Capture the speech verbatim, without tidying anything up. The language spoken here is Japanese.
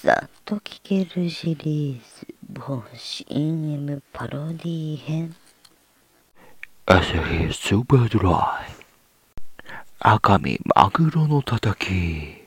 さっと聞けるシリーズ某 シーエム パロディ編。 朝日スーパードライ赤身マグロのたたき。